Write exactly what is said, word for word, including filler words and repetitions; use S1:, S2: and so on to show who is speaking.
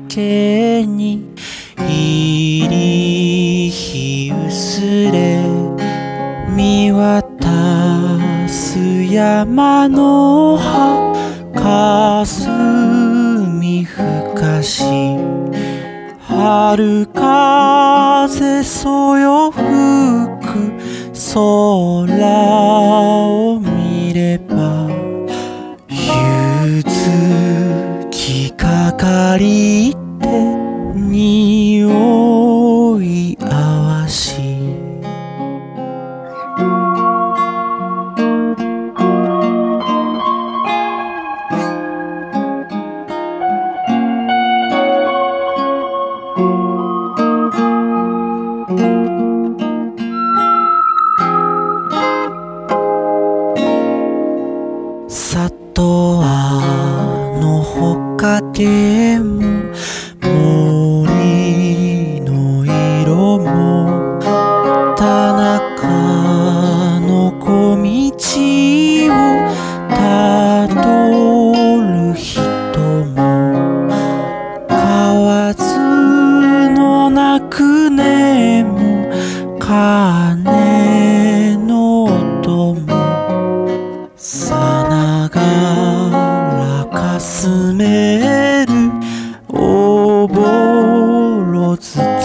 S1: けに入り日薄れ見渡す山の葉霞ふかし春風そよ吹く空を見ればゆずきかかりて匂いあわし里はのほかでも森の色も田中の小道をたどる人も河津の鳴く音も鐘の音もさながらかすめるおぼろ月